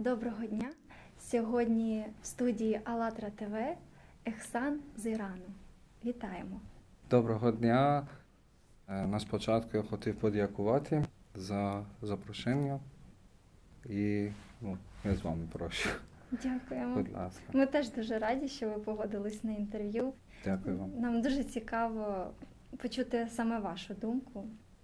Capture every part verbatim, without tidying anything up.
Доброго дня! Сьогодні в студії АЛЛАТРА ТВ Ехсан з Ірану. Вітаємо! Доброго дня! На спочатку я хотів подякувати за запрошення і ну, я з вами прошу. Дякуємо. Будь ласка. Ми теж дуже раді, що ви погодились на інтерв'ю. Дякую вам. Нам дуже цікаво почути саме вашу думку.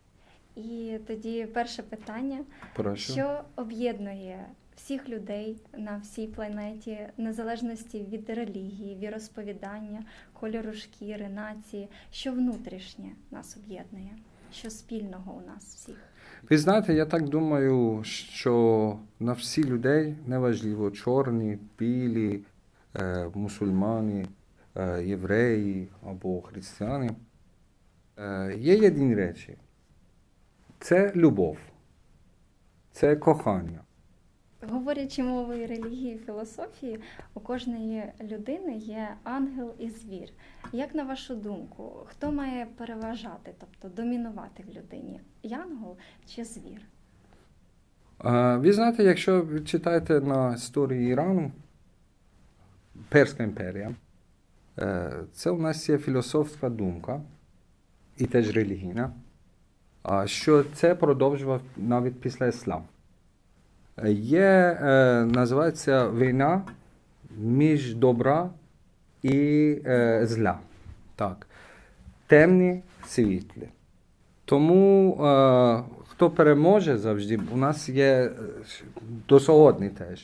І тоді перше питання. Прошу. Що об'єднує всіх людей на всій планеті, незалежності від релігії, віросповідання, кольору шкіри, нації? Що внутрішнє нас об'єднує? Що спільного у нас всіх? Ви знаєте, я так думаю, що на всі людей, неважливо, чорні, білі, е, мусульмани, е, євреї або християни, е, є єдині речі. Це любов, це кохання. Говорячи мовою релігії і філософії, у кожної людини є ангел і звір. Як на вашу думку, хто має переважати, тобто домінувати в людині? Янгол чи звір? А, ви знаєте, якщо ви читаєте на історії Ірану, Перська імперія, це у нас є філософська думка і теж релігійна, що це продовжував навіть після ісламу. Є, е, називається війна між добра і е, зла. Так. Темні, світлі. Тому е, хто переможе завжди, у нас є до сьогодні теж.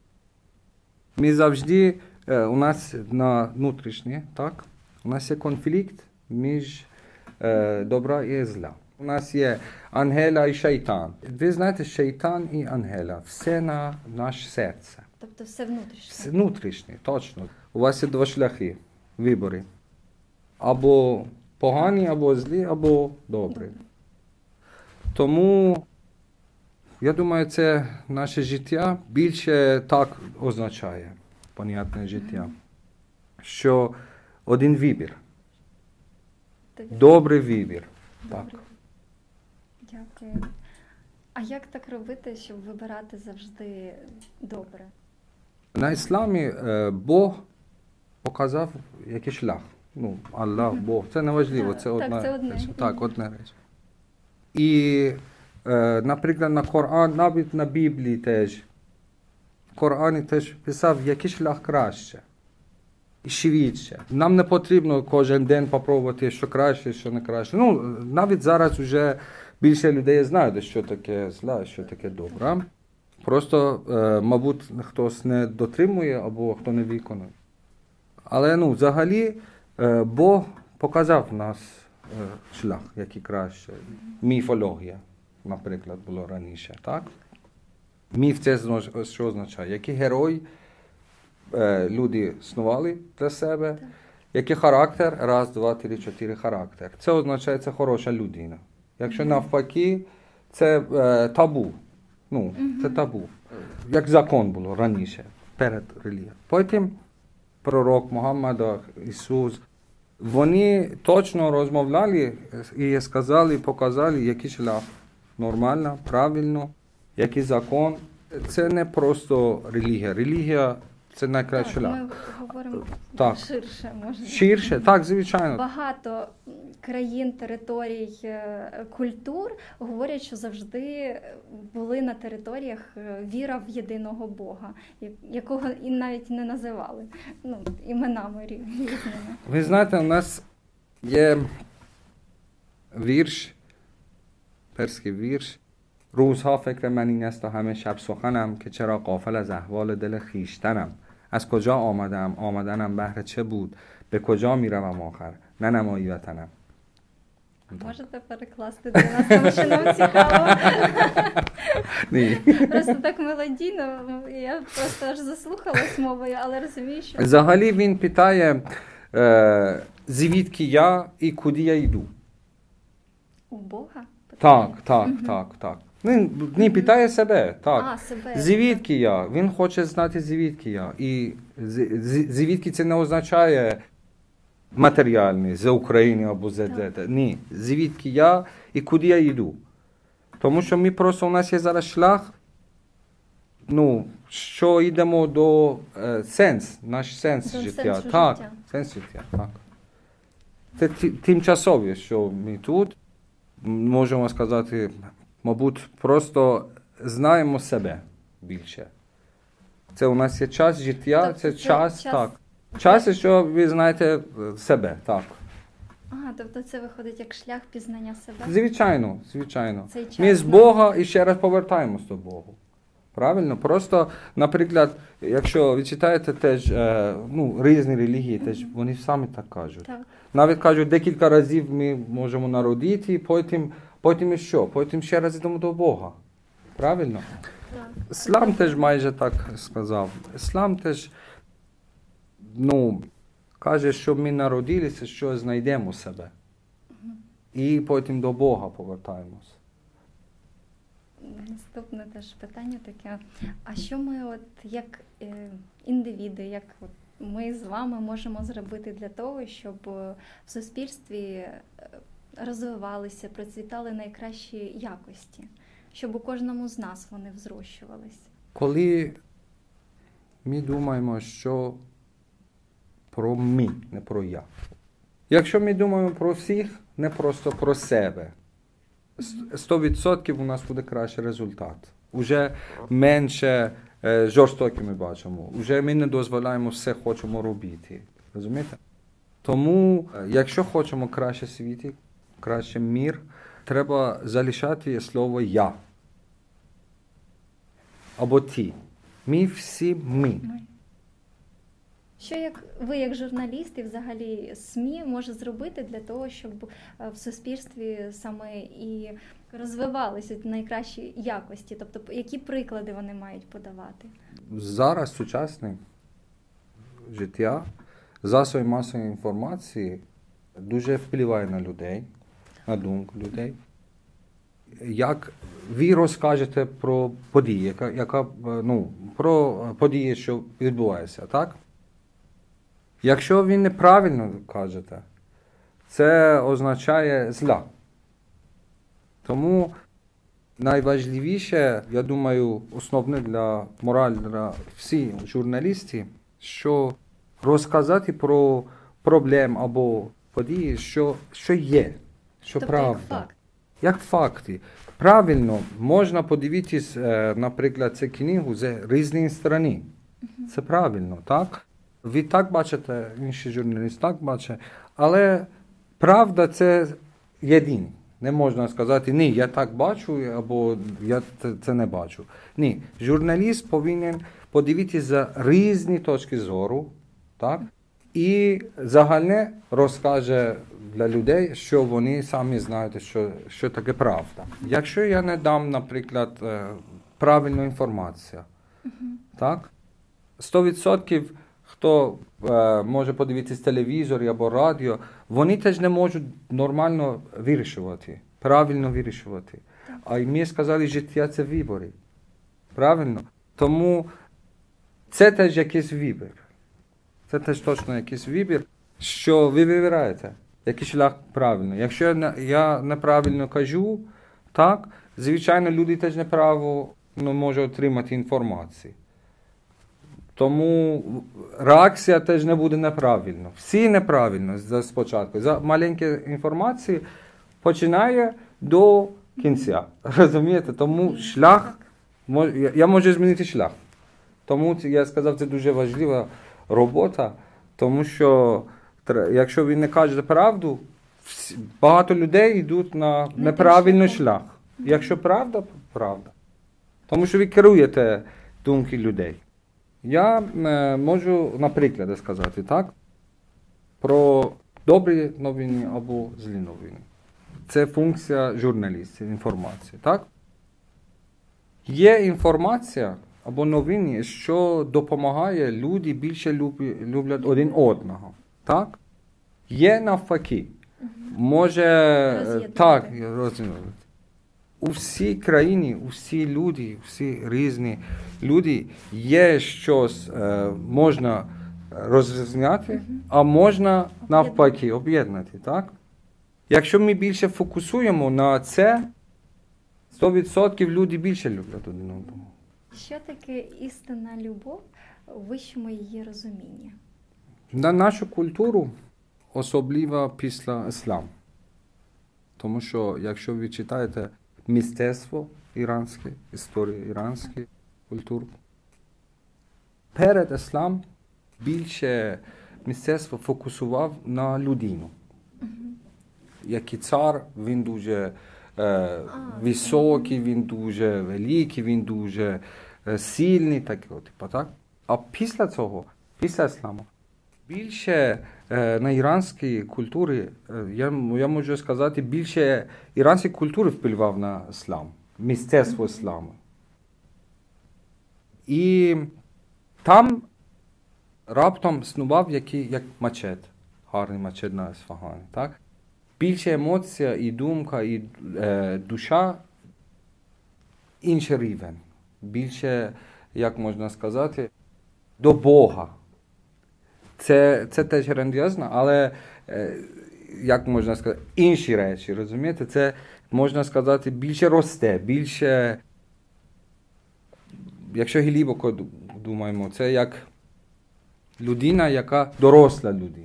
Ми завжди, е, у нас на внутрішнє, так, у нас є конфлікт між е, добра і зла. У нас є ангела і шайтан. Ви знаєте, шайтан і ангела. Все на наше серце. Тобто все внутрішнє? Все внутрішнє, точно. У вас є два шляхи, вибори. Або погані, або злі, або добрі. Добре. Тому, я думаю, це наше життя більше так означає, понятне життя, mm-hmm. що один вибір. Добрий вибір. Добре. Так. Дякую. А як так робити, щоб вибирати завжди добре? На ісламі е, Бог показав який шлях. Ну, Аллах, Бог. Це не важливо, це одна так, це одне. реч. Так, одна реч. І, е, наприклад, на Коран, навіть на Біблії теж, в Корані теж писав, який шлях краще. І швидше. Нам не потрібно кожен день попробувати, що краще, що не краще. Ну, навіть зараз вже більше людей знають, що таке зла, що таке добре. Просто, е, мабуть, хтось не дотримує або хто не виконує. Але, ну, взагалі, е, Бог показав нас е, шлях, який краще. Міфологія, наприклад, було раніше, так? Міф це що означає? Який герой е, люди снували для себе, так. Який характер, раз, два, три, чотири характер. Це означає, це хороша людина. Якщо навпаки, це е, табу. Ну, mm-hmm. це табу. Як закон було раніше, перед релігією. Потім пророк Мухаммад, Ісус, вони точно розмовляли і сказали, показали, який шлях нормально, правильно, який закон. Це не просто релігія. Релігія – це найкращий шлях. Ми говоримо так. ширше, можна. Ширше, так, звичайно. Багато країн, територій, культур говорять, що завжди були на територіях віра в єдиного Бога, якого і навіть не називали, ну, іменами різними. Ви знаєте, у нас є вірш, перський вірш. روزها فکر من این است و همه شب سخنم که چرا غافل از احوال دل خویشتنم از کجا آمدم آمدنم بهر چه بود به کجا میروم آخر نه نمایی وطنم. Можете перекласти для нас, тому що нам цікаво. Ні. Просто так мелодійно, я просто аж заслухалась мовою, але розумію, що... Взагалі він питає, е, звідки я і куди я йду. У Бога? Так, так, угу. так, так. Він не питає себе, так. А, себе. Звідки я? Він хоче знати, звідки я. І звідки це не означає матеріальний, з України або з де. Ні, звідки я і куди я йду. Тому що ми просто, у нас є зараз шлях ну, що йдемо до е, сенс, наш сенс До життя. сенсу Так, життя. сенс життя, так. Це ті- тимчасове, що ми тут, можемо сказати, мабуть, просто знаємо себе більше. Це у нас є час життя, Тобто це, це час, час- так. Час, що ви знаєте е, себе, так. А, тобто це виходить як шлях пізнання себе? Звичайно, звичайно. Цей час, Ми з ну. Бога і ще раз повертаємось до Бога. Правильно? Просто, наприклад, якщо ви читаєте теж, е, ну, різні релігії, теж вони самі так кажуть. Так. Навіть кажуть, декілька разів ми можемо народити, потім, потім і що? Потім ще раз йдемо до Бога. Правильно? Так. Іслам теж майже так сказав. Іслам теж, ну, каже, що ми народилися, що знайдемо себе. І потім до Бога повертаємось. Наступне теж питання таке. А що ми, от як е, індивіди, як от ми з вами можемо зробити для того, щоб е, в суспільстві е, розвивалися, процвітали найкращі якості, щоб у кожному з нас вони взрощувались? Коли ми думаємо, що про ми, не про я. Якщо ми думаємо про всіх, не просто про себе, сто відсотків у нас буде кращий результат. Уже менше е, жорстокі ми бачимо. Уже ми не дозволяємо все хочемо робити. Розумієте? Тому, е, якщо хочемо краще світі, краще мір, треба залишати слово «я». Або «ти». Ми всі ми. Ми. Що як ви, як журналіст і взагалі СМІ, може зробити для того, щоб е, в суспільстві саме і розвивалися найкращі якості? Тобто, які приклади вони мають подавати? Зараз сучасне життя, засоби масової інформації дуже впливає на людей, на думку людей. Як ви розкажете про події, яка, яка, ну, про події, що відбуваються, так? Якщо ви неправильно кажете, це означає зла. Тому найважливіше, я думаю, основне для мораль для всіх журналістів, що розказати про проблеми або події, що, що є, що Тобто, правда. як факт. Як факти. Правильно, можна подивитись, наприклад, цю книгу з різних сторон. Це правильно, так? Ви так бачите, інші журналісти так бачать, але правда це єдине. Не можна сказати, ні, я так бачу, або я це, це не бачу. Ні, журналіст повинен подивитися за різні точки зору, так? І загальне розкаже для людей, що вони самі знають, що, що таке правда. Якщо я не дам, наприклад, правильну інформацію, uh-huh. так? сто відсотків хто е, може подивитися телевізор або радіо, вони теж не можуть нормально вирішувати, правильно вирішувати. А ми сказали, життя – це вибори. Правильно? Тому це теж якийсь вибір. Це теж точно якийсь вибір, що ви вибираєте, який шлях правильно. Якщо я, не, я неправильно кажу, так, звичайно, люди теж неправильно ну, можуть отримати інформацію. Тому реакція теж не буде неправильно. Всі неправильно спочатку. За маленьку інформацію починає до кінця. Розумієте? Тому шлях, я можу змінити шлях. Тому я сказав, це дуже важлива робота, тому що якщо ви не кажете правду, багато людей йдуть на неправильний шлях. Якщо правда, правда. Тому що ви керуєте думки людей. Я е, можу, наприклад, сказати, так, про добрі новини або злі новини. Це функція журналістів, інформації, так? Є інформація або новини, що допомагає, люди більше люблять один одного, так? Є навпаки. Може, так, роз'єднувати. У всій країні, у всі люди, всі різні люди є щось, е, можна розрізняти, mm-hmm. а можна навпаки об'єднати, так? Якщо ми більше фокусуємо на це, сто відсотків люди більше люблять один одного. Що таке істинна любов у вищому її розумінні? На нашу культуру особливо після ісламу. Тому що, якщо ви читаєте мистецтво іранське, історію іранської культури, перед ісламом більше мистецтво фокусував на людину. Uh-huh. Який цар, він дуже е, ah, високий, він дуже великий, він дуже е, сильний, так, типу, так? А після цього, після ісламу, більше е, на іранській культурі, е, я, я можу сказати, більше іранської культури впливав на іслам, мистецтво ісламу. І там раптом снував який, як мечет, гарний мечет на Ісфагані, так? Більше емоція і думка, і е, душа інший рівень. Більше, як можна сказати, до Бога. Це, це теж грандіозно, але, е, як можна сказати, інші речі, розумієте? Це, можна сказати, більше росте, більше, якщо глибоко думаємо, це як людина, яка доросла людина.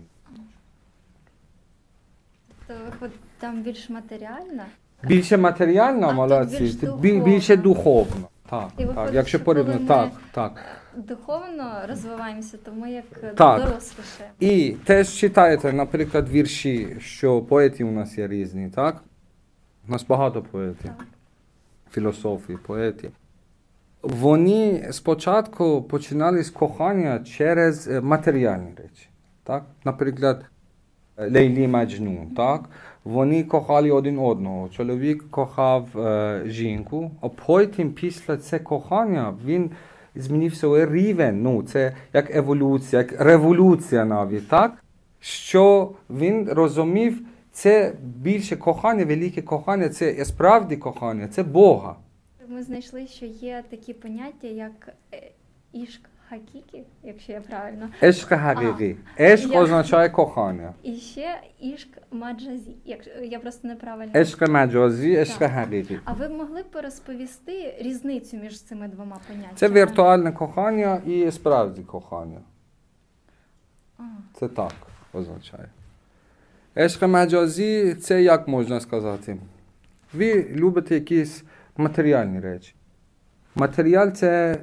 То виходить, там більш матеріальна? Більше матеріально, молодці, більш більше, більше духовно. Так, і виходить, так, якщо порівняно, так, так. Духовно розвиваємося, то ми як так. доросліше. І теж читаєте, наприклад, вірші, що поети у нас є різні, так? У нас багато поетів, так. Філософії, поети. Вони спочатку починали з кохання через матеріальні речі, так? Наприклад, Лейлі Маджнун, так? Вони кохали один одного. Чоловік кохав е, жінку, а потім після це кохання він змінив свій рівень. Ну, це як еволюція, як революція навіть, так? Що він розумів, це більше кохання, велике кохання, це справді кохання, це Бога. Ми знайшли, що є такі поняття, як ішк хакікі, якщо я правильно. Ешк хакікі. Ешк я... означає кохання. І ще ішк маджазі, якщо я просто неправильно. Ешк маджазі, ешк хакікі. А ви б могли б розповісти різницю між цими двома поняттями? Це віртуальне кохання і справді кохання. А. Це так означає. Ешк маджазі, це як можна сказати? Ви любите якісь матеріальні речі. Матеріал – це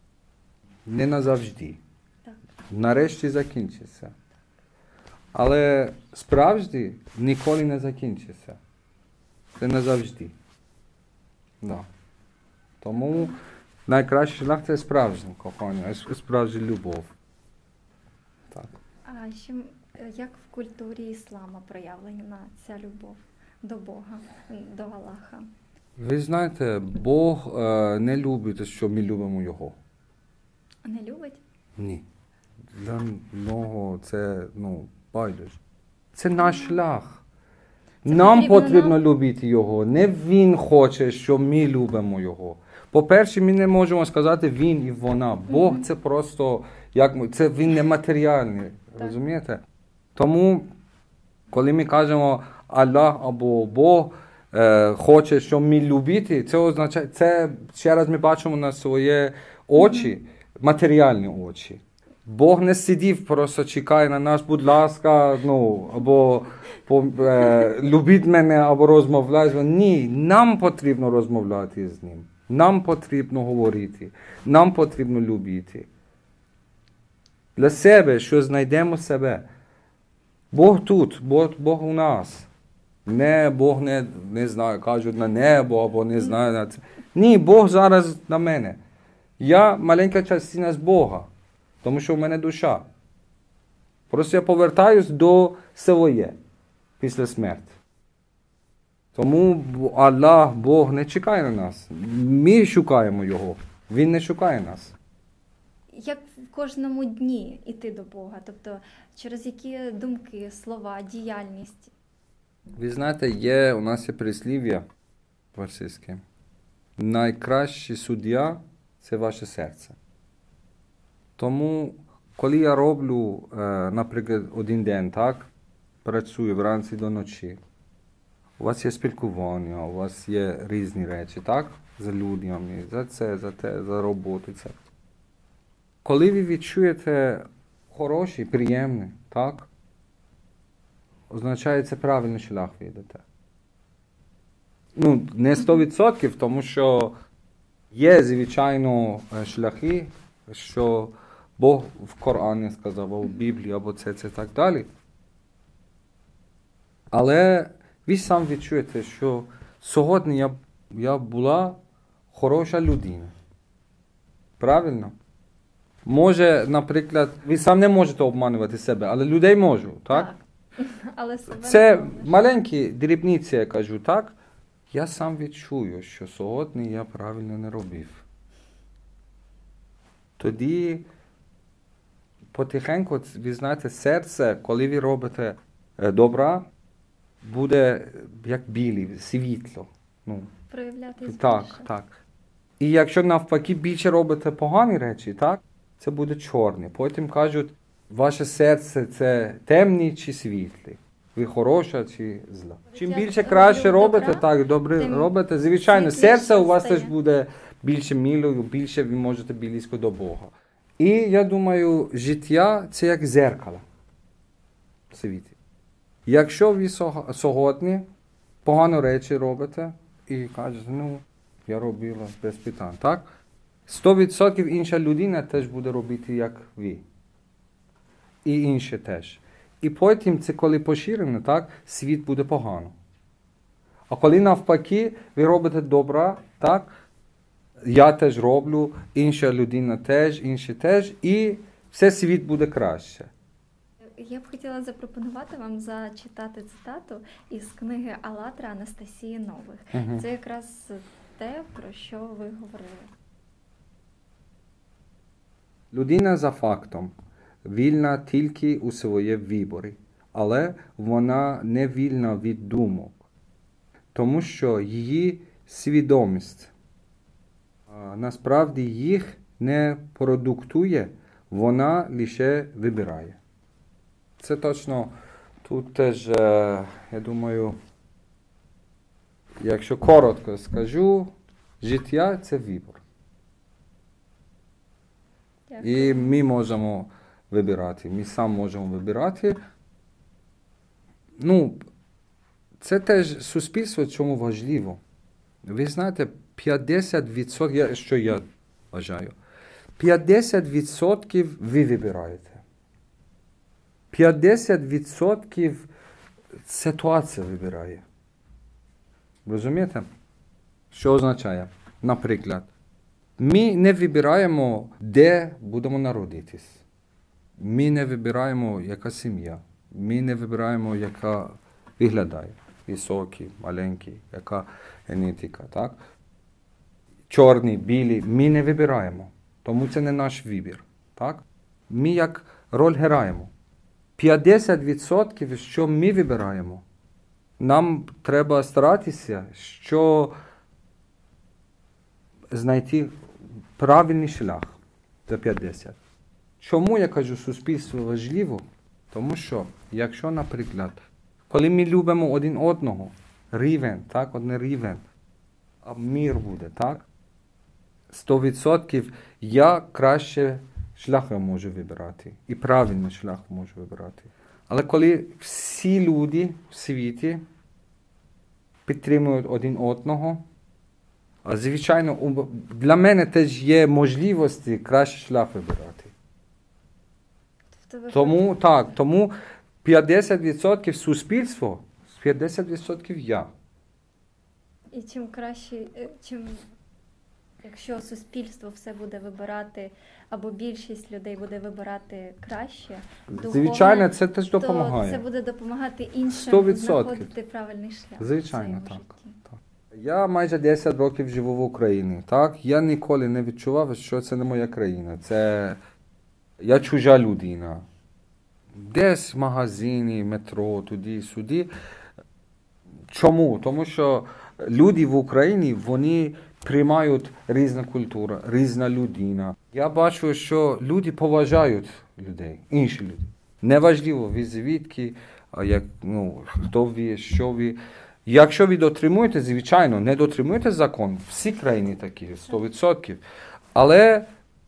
не назавжди. Так. Нарешті закінчиться. Але справді ніколи не закінчиться. Це назавжди. Да. Тому найкращий шлях – це справжнє кохання, справжня любов. Так. А ще, як в культурі іслама проявлена ця любов до Бога, до Аллаха? Ви знаєте, Бог е, не любить, що ми любимо Його. Не любить? Ні. Для нього це, ну, байдуже. Це наш шлях. Це нам потрібно нам... любити Його. Не Він хоче, що ми любимо Його. По-перше, ми не можемо сказати Він і вона. Бог mm-hmm. це просто, як ми, це Він нематеріальний. Розумієте? Тому, коли ми кажемо Аллах або Бог, Е, хоче, щоб ми любити, це означає, це ще раз ми бачимо на свої очі, mm-hmm. матеріальні очі. Бог не сидів, просто чекає на нас, будь ласка, ну, або по, е, любіть мене, або розмовляй. Ні, нам потрібно розмовляти з ним. Нам потрібно говорити. Нам потрібно любити. Для себе, що знайдемо себе. Бог тут, Бог, Бог у нас. Не, Бог не, не знаю, кажуть на небо, або не знаю на це. Ні, Бог зараз на мене. Я маленька частина з Бога, тому що в мене душа. Просто я повертаюсь до своє після смерті. Тому Аллах, Бог не чекає на нас. Ми шукаємо Його, Він не шукає нас. Як в кожному дні йти до Бога? Тобто через які думки, слова, діяльність? Ви знаєте, є, у нас є прислів'я російське. Найкращий суддя – це ваше серце. Тому, коли я роблю, наприклад, один день, так, працюю вранці до ночі, у вас є спілкування, у вас є різні речі, так? За людьми, за це, за те, за роботу. Це. Коли ви відчуєте хороший, приємний, так? Означає, це правильний шлях ви йдете. Ну, не сто відсотків, тому що є, звичайно, шляхи, що Бог в Корані сказав, або в Біблії, або це, це, так далі. Але ви сам відчуєте, що сьогодні я, я була хороша людина. Правильно? Може, наприклад, ви сам не можете обманювати себе, але людей можу, так? Так. Але себе це не можеш. маленькі дрібниці, я кажу, так? Я сам відчую, що сьогодні я правильно не робив. Тоді потихеньку, ви знаєте, серце, коли ви робите добра, буде як білі, світло. Ну, Проявлятись так, більше. так. І якщо навпаки більше робите погані речі, так, це буде чорне. Потім кажуть, ваше серце це темні чи світлі. Ви хороша чи зла. Чим Як більше краще роблю робите, добра, так, добре тим робите, звичайно, світліше серце у вас стає. теж буде більше милою, більше ви можете близько до Бога. І я думаю, життя це як зеркало в світі. Якщо ви сьогодні погано речі робите і кажете, ну, я робила без питань, так? сто відсотків інша людина теж буде робити, як ви. І інші теж. І потім, це коли поширено, так, світ буде погано. А коли навпаки, ви робите добра, так, я теж роблю, інша людина теж, інші теж, і все світ буде краще. Я б хотіла запропонувати вам зачитати цитату із книги «АЛЛАТРА» Анастасії Нових. Угу. Це якраз те, про що ви говорили. Людина за фактом вільна тільки у своєму виборі, але вона не вільна від думок, тому що її свідомість а, насправді їх не продуктує, вона лише вибирає. Це точно, тут теж, я думаю, якщо коротко скажу, життя – це вибір. Дякую. І ми можемо вибирати, ми сам можемо вибирати. Ну, це теж суспільство, чому важливо. Ви знаєте, п'ятдесят відсотків, що я вважаю, п'ятдесят відсотків ви вибираєте. п'ятдесят відсотків ситуація вибирає. Розумієте? Що означає? Наприклад, ми не вибираємо, де будемо народитись. Ми не вибираємо, яка сім'я. Ми не вибираємо, яка виглядає. Високий, маленький, яка генетика, так? Чорні, білі. Ми не вибираємо. Тому це не наш вибір, так? Ми як роль граємо. п'ятдесят відсотків, що ми вибираємо, нам треба старатися, що знайти правильний шлях за п'ятдесят. Чому я кажу, суспільство важливо? Тому що, якщо, наприклад, коли ми любимо один одного, рівень, так, один рівень, а мир буде, так? сто відсотків я краще шлях можу вибирати. І правильний шлях можу вибирати. Але коли всі люди в світі підтримують один одного, а звичайно, для мене теж є можливості краще шлях вибирати. Тому, так, тому п'ятдесят відсотків суспільство, п'ятдесят відсотків я. І чим краще, чим, якщо суспільство все буде вибирати, або більшість людей буде вибирати краще, духовне, звичайно, це теж допомагає. то це буде допомагати іншим сто відсотків. знаходити правильний шлях. Звичайно, в своєму так, житті. так. Я майже десять років живу в Україні, так? Я ніколи не відчував, що це не моя країна. Це я чужа людина. Десь в магазині, метро, туди-сюди. Чому? Тому що люди в Україні, вони приймають різну культуру, різна людина. Я бачу, що люди поважають людей, інші люди. Неважливо, ви звідки, як, ну, хто ви, що ви. Якщо ви дотримуєте, звичайно, не дотримуєте закон, всі країни такі, сто відсотків. Але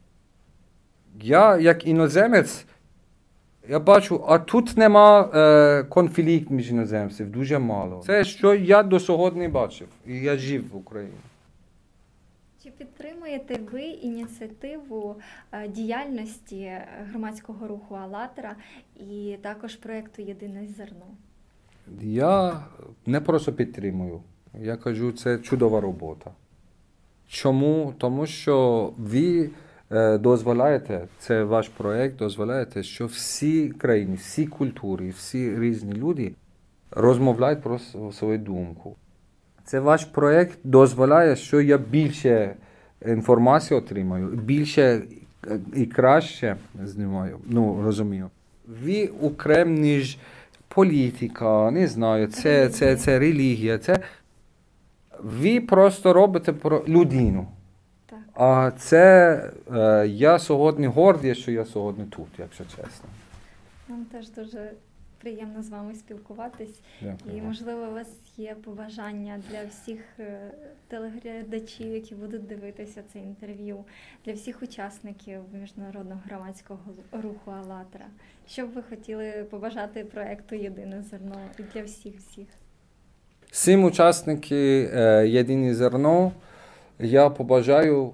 я, як іноземець, я бачу, а тут нема е, конфлікт між іноземців, дуже мало. Це, що я до сьогодні бачив, і я жив в Україні. Чи підтримуєте ви ініціативу е, діяльності громадського руху «АЛЛАТРА» і також проєкту «Єдине зерно»? Я не просто підтримую. Я кажу, це чудова робота. Чому? Тому що ви е, дозволяєте, це ваш проєкт, дозволяєте, що всі країни, всі культури, всі різні люди розмовляють про свою думку. Це ваш проєкт дозволяє, що я більше інформації отримаю, більше і краще знімаю, ну, розумію. Ви окрем, ніж політика, не знаю, це, це, це релігія, це ви просто робите про людину. Так. А це е, я сьогодні гордий, що я сьогодні тут, якщо чесно. Нам теж дуже приємно з вами спілкуватись. Дякую. І, можливо, у вас є побажання для всіх е, телеглядачів, які будуть дивитися це інтерв'ю, для всіх учасників міжнародного громадського руху «АЛЛАТРА». Що б ви хотіли побажати проєкту «Єдине зерно» і для всіх-всіх? Всім учасникам е, «Єдине зерно» я побажаю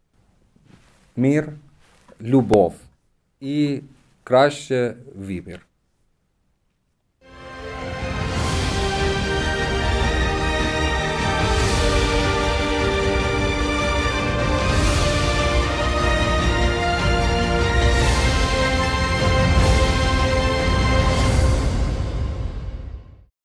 мир, любов і краще вибір.